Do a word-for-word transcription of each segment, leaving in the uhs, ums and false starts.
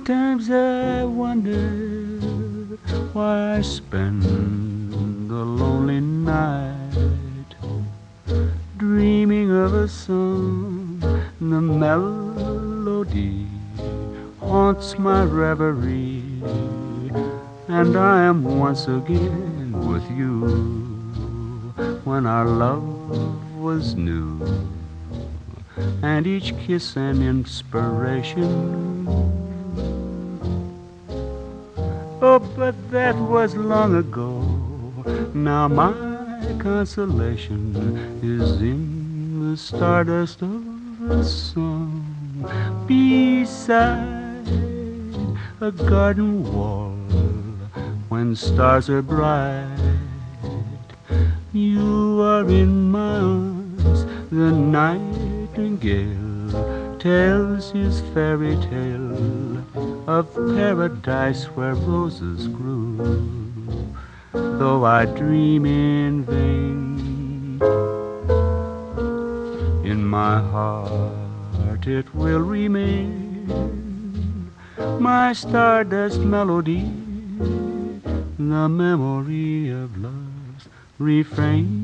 Sometimes I wonder why I spend the lonely night dreaming of a song. The melody haunts my reverie, and I am once again with you when our love was new, and each kiss an inspiration. Oh, but that was long ago. Now my consolation is in the stardust of a song beside a garden wall when stars are bright. You are in my arms, the nightingale tells his fairy tale of paradise where roses grew. Though I dream in vain, in my heart it will remain my stardust melody, the memory of love's refrain.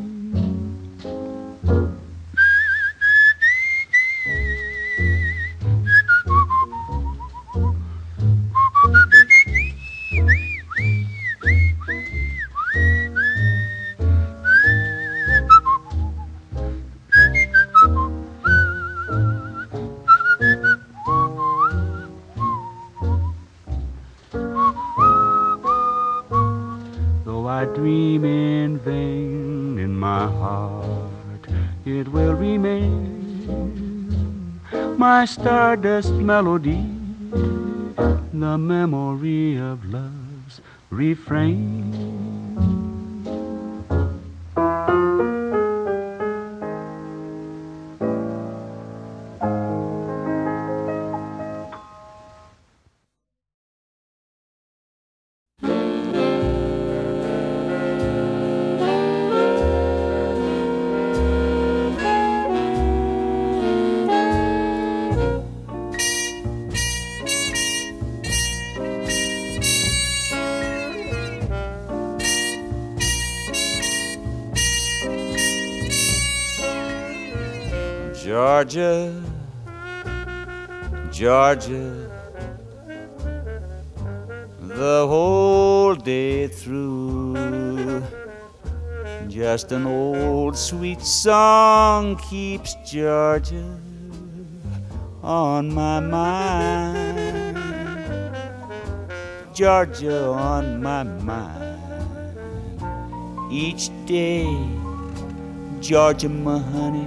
I dream in vain, in my heart it will remain my stardust melody, the memory of love's refrain. Georgia, Georgia, the whole day through, just an old sweet song keeps Georgia on my mind. Georgia on my mind each day. Georgia, my honey,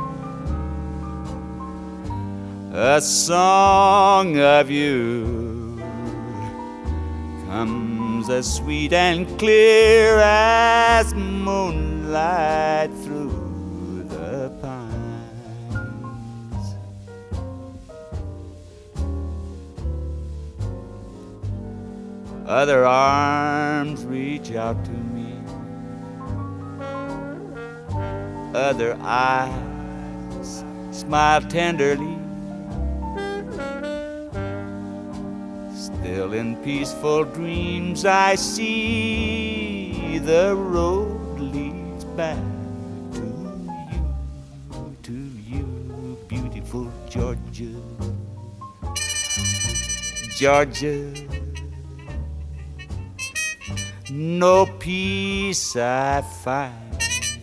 a song of you comes as sweet and clear as moonlight through the pines. Other arms reach out to me, other eyes smile tenderly. Still in peaceful dreams I see the road leads back to you, to you, beautiful Georgia. Georgia, no peace I find,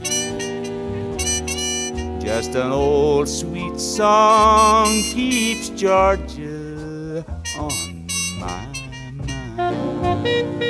just an old sweet song keeps Georgia on my mind.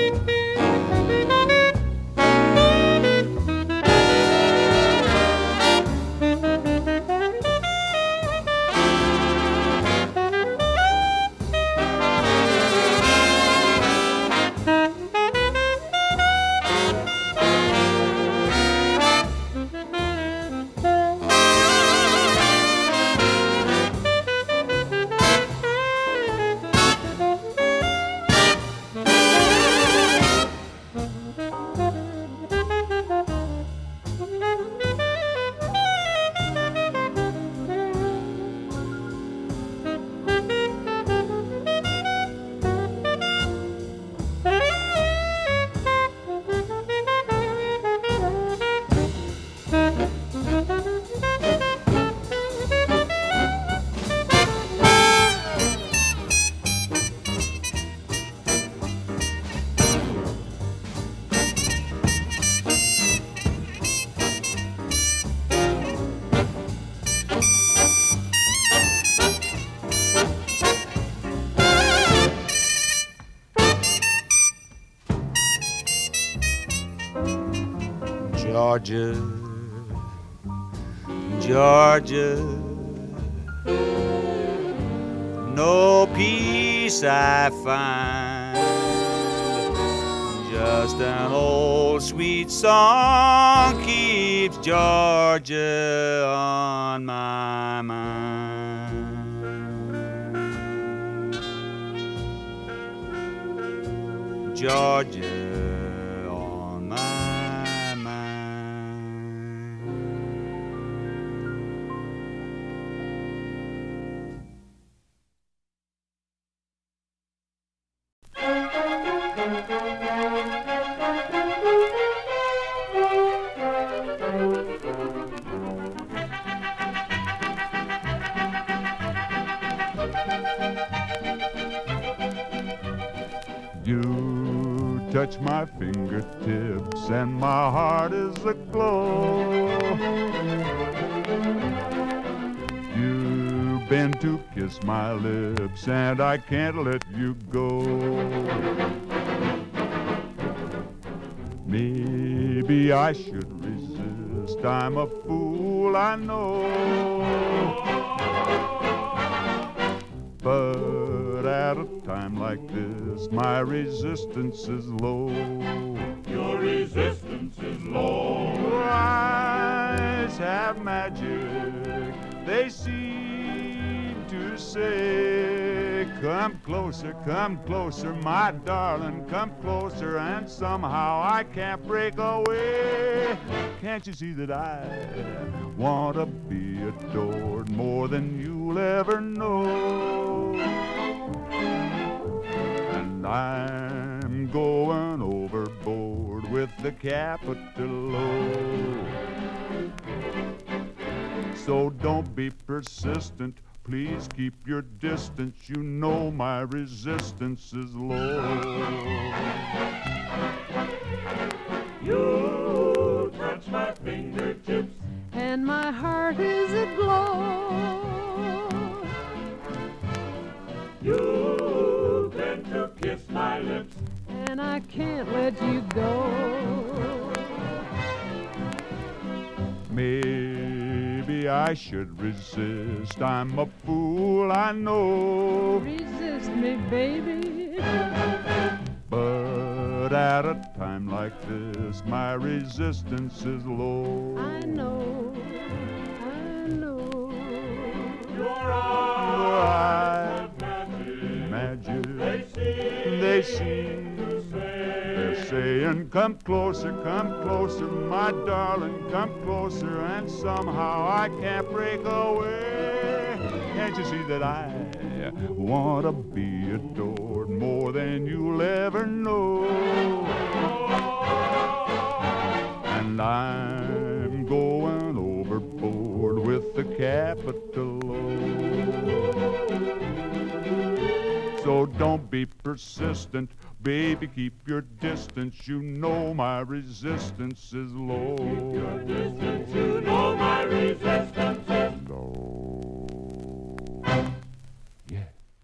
Georgia, Georgia, no peace I find, just an old sweet song keeps Georgia on my mind. Georgia on my mind. You touch my fingertips and my heart is aglow. You bend to kiss my lips and I can't let you go. Maybe I should resist, I'm a fool, I know. But at a time like this, my resistance is low. Your resistance is low. Your eyes have magic, they seem to say, come closer, come closer, my darling, come closer, and somehow I can't break away. Can't you see that I want to be adored more than you'll ever know? And I'm going overboard with the capital O. So don't be persistent, please keep your distance. You know my resistance is low. You touch my fingertips and my heart is aglow. You bend to kiss my lips and I can't let you go. Maybe I should resist, I'm a fool, I know. Resist me, baby. But at a time like this, my resistance is low. I know, I know. your eyes have magic. Magic, They seem they seem to say, they're saying, come closer, come closer, my darling, come closer, and somehow I can't break away. Can't you see that I want to be adored more than you'll ever know? And I'm going overboard with the capital O. So don't be persistent, baby, keep your distance. You know my resistance is low. your distance, you know my resistance is Low. Yeah.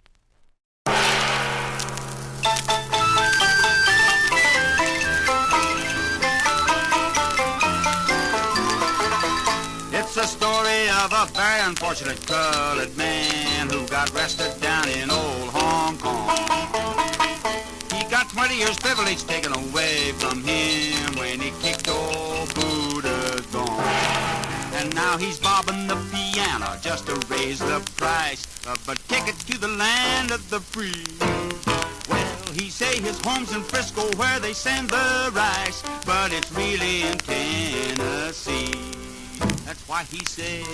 It's the story of a very unfortunate colored man who got arrested down in old Hong Kong. He got twenty years privilege taken away from him when he kicked old Buddha's gone. And now he's bobbing the piano just to raise the price of a ticket to the land of the free. Well, he say his home's in Frisco where they send the rice, but it's really in Tennessee. That's why he say,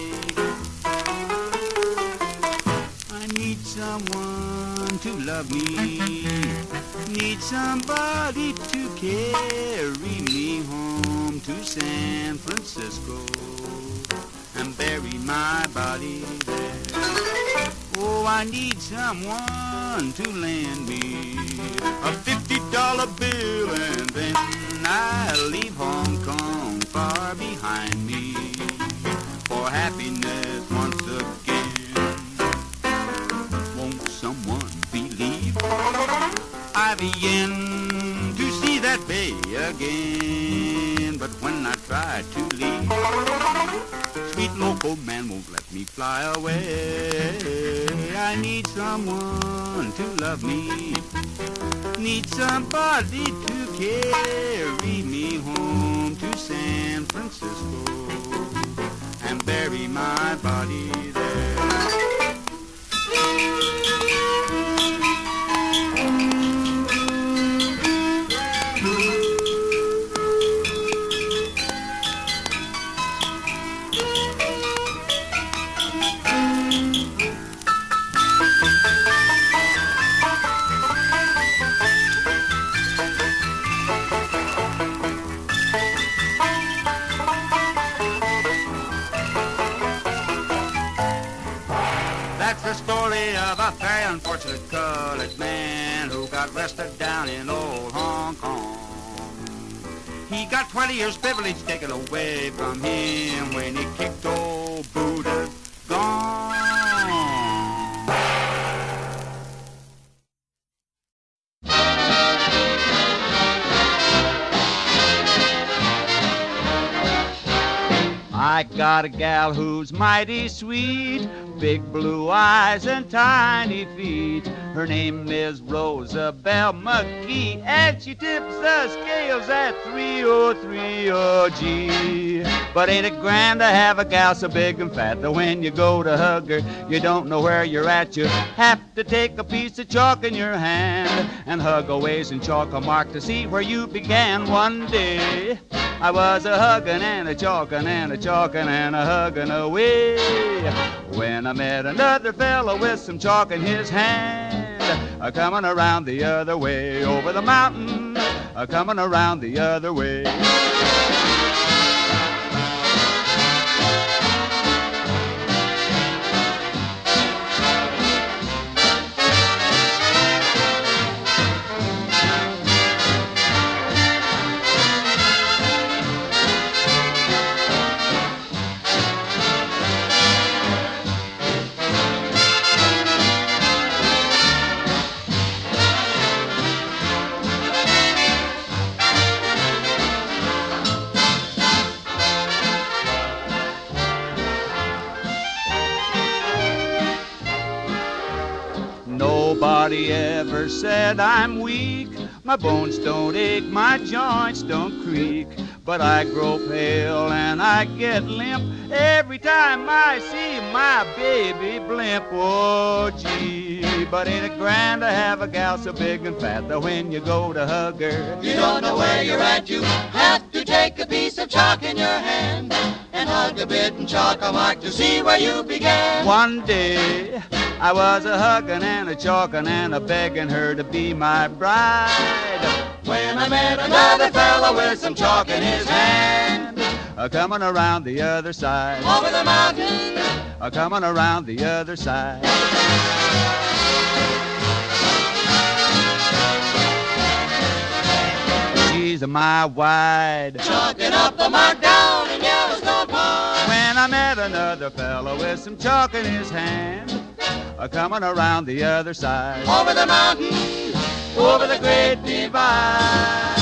I need someone to love me, need somebody to carry me home to San Francisco and bury my body there. Oh, I need someone to lend me a fifty dollar bill and then I'll leave Hong Kong far behind me for happiness once again. Won't someone believe I'll be in to see that bay again? but when I try to leave, sweet loco man won't let me fly away. I need someone to love me, need somebody to carry me home to San Francisco and bury my body there. The story of a very unfortunate colored man who got arrested down in old Hong Kong. He got twenty years privilege taken away from him when he kicked old Buddha's gone. I got a gal who's mighty sweet, big blue eyes and tiny feet. Her name is Rosabelle McGee, and she tips the scales at three oh three oh G. But ain't it grand to have a gal so big and fat that when you go to hug her, you don't know where you're at. You have to take a piece of chalk in your hand and hug a ways and chalk a mark to see where you began. One day I was a huggin' and a chalkin' and a chalkin' and a huggin' away when I met another fellow with some chalk in his hand, a comin' around the other way over the mountain, a comin' around the other way. Nobody ever said I'm weak. My bones don't ache, my joints don't creak. But I grow pale and I get limp every time I see my baby blimp. Oh, gee, but ain't it grand to have a gal so big and fat that when you go to hug her, you don't know where you're at. You have to take a piece of chalk in your hand and hug a bit and chalk a mark to see where you began. One day I was a huggin' and a chalkin' and a begging her to be my bride when I met another fellow with some chalk in his hand, a comin' around the other side over the mountain, a comin' around the other side. She's my wide, chalking up the mark down in Yellowstone Park when I met another fellow with some chalk in his hand, a comin' around the other side over the mountain, over the great divide.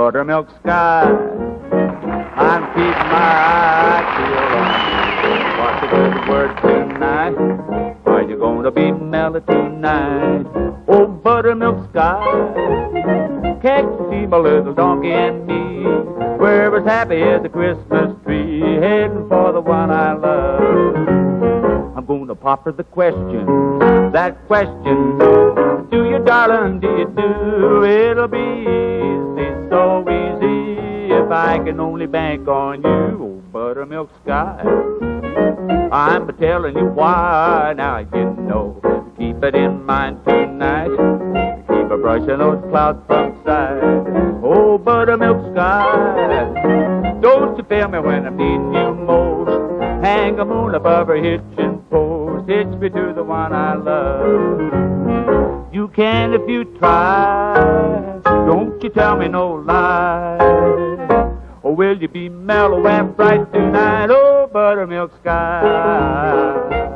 buttermilk sky. I'm keeping my eye peeled on you. What's the good word tonight? Are you gonna be mellow tonight? Oh, buttermilk sky, can't you see my little donkey and me? We're as happy as a Christmas tree, heading for the one I love. I'm gonna pop her the question, that question, do you, darling, do you do? It'll be easy, so easy, if I can only bank on you, oh, buttermilk sky. I'm telling you why, now you know. Keep it in mind tonight. Keep a brushing those clouds from sight. Oh, buttermilk sky, don't you fail me when I'm needing you most. Hang a moon above her hitching post. Hitch me to the one I love. You can if you try. Don't you tell me no lie. Or will you be mellow and bright tonight? Oh, buttermilk sky.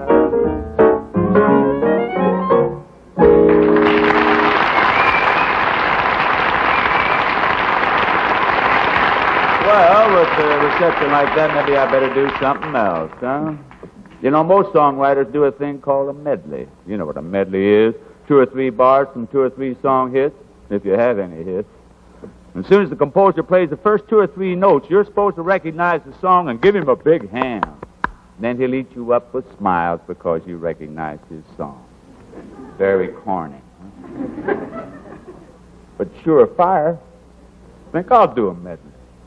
Well, with a reception like that, maybe I better do something else, huh? You know, most songwriters do a thing called a medley. You know what a medley is. Two or three bars from two or three song hits, if you have any hits. As soon as the composer plays the first two or three notes, you're supposed to recognize the song and give him a big hand. Then he'll eat you up with smiles because you recognize his song. Very corny. Huh? But sure fire. I think I'll do a medley.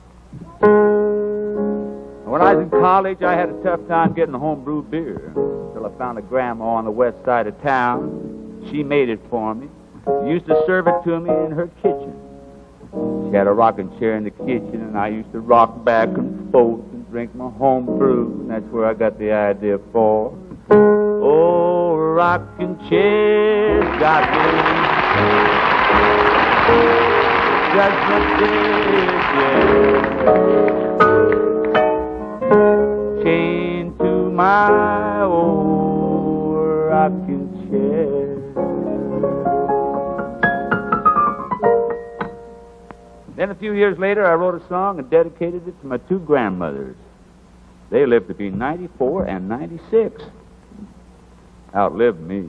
When I was in college, I had a tough time getting homebrew beer until I found a grandma on the west side of town. She made it for me. She used to serve it to me in her kitchen. She had a rocking chair in the kitchen, and I used to rock back and forth and drink my home brew, and that's where I got the idea for. Oh, rocking chair, got me. Judgment Day, yeah. Chained to my old rocking chair. Then a few years later, I wrote a song and dedicated it to my two grandmothers. They lived to be ninety-four and ninety-six. Outlived me.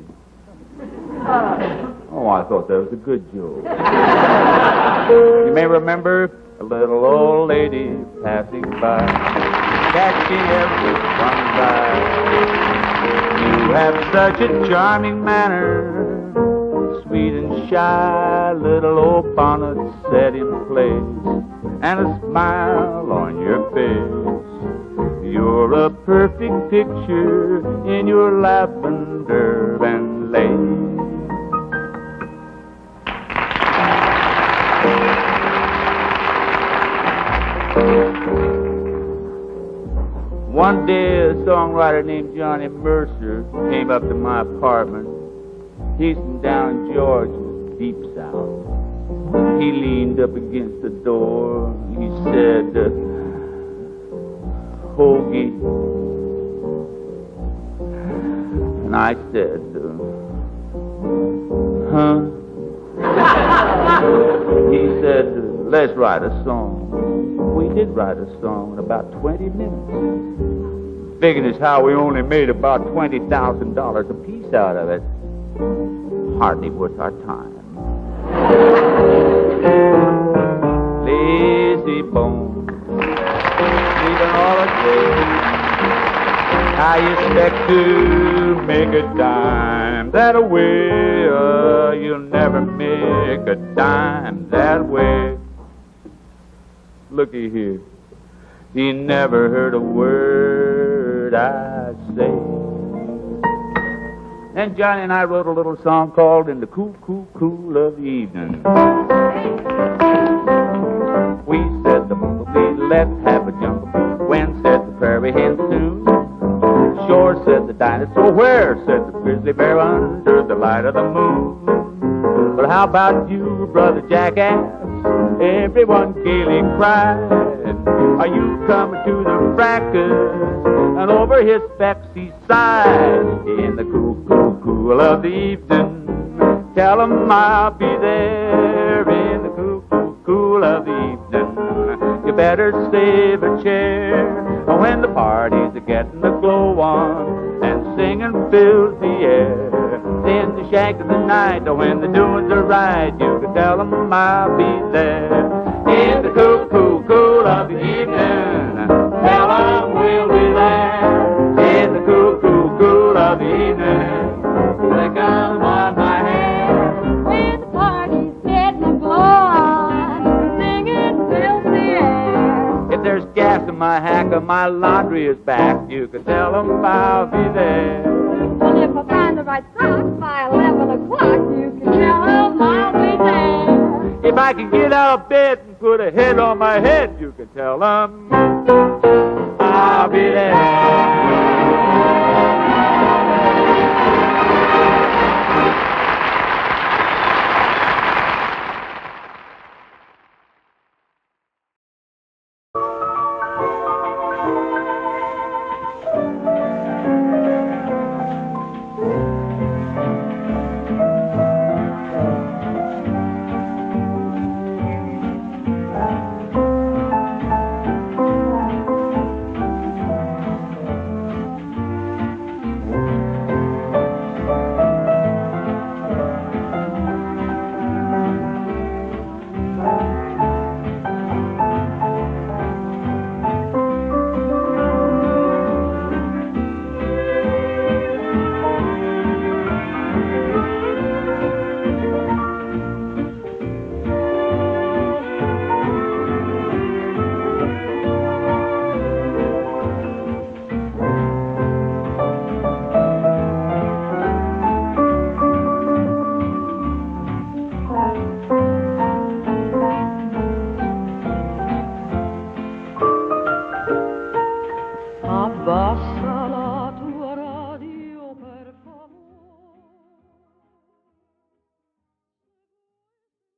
Oh, I thought that was a good joke. You may remember a little old lady passing by, catching everyone's eye. You have such a charming manner, sweet and shy, little old bonnet set in place, and a smile on your face. You're a perfect picture in your lavender and lace. One day, a songwriter named Johnny Mercer came up to my apartment. He's from down in Georgia, deep south. He leaned up against the door. He said, uh, Hoagie. And I said, uh, huh? He said, let's write a song. We did write a song in about twenty minutes. Figuring as how we only made about twenty thousand dollars a piece out of it. Hardly worth our time. Lazy bones, sleeping all the day. I expect to make a dime that way. Uh, you'll never make a dime that way. Looky here, he never heard a word I say. Then Johnny and I wrote a little song called In the Cool, Cool, Cool of the Evening. We said the bumblebee, let's have a jungle. When said the prairie hen soon. Shore said the dinosaur, where said the grizzly bear under the light of the moon. But how about you, brother jackass? Everyone gaily cried, are you coming to the fracas? And over his specs he sighed. In the cool, cool, cool of the evening, tell him I'll be there. In the cool, cool, cool of the evening. You better save a chair when the parties are getting the glow on and singing fills the air. In the shack of the night, when the doings are right, you can tell 'em I'll be there. In the cool, cool, cool of the evening, tell 'em we'll be there. In the cool, cool, cool of the evening, flick 'em on my hair. When the party's getting a glow on, singing fills the air. If there's gas in my hack or my laundry is back, you can tell 'em I'll be there. Well, if I find the right socks by eleven o'clock, you can tell 'em I'll be there. If I can get out of bed and put a head on my head, you can tell 'em I'll be there. A bossa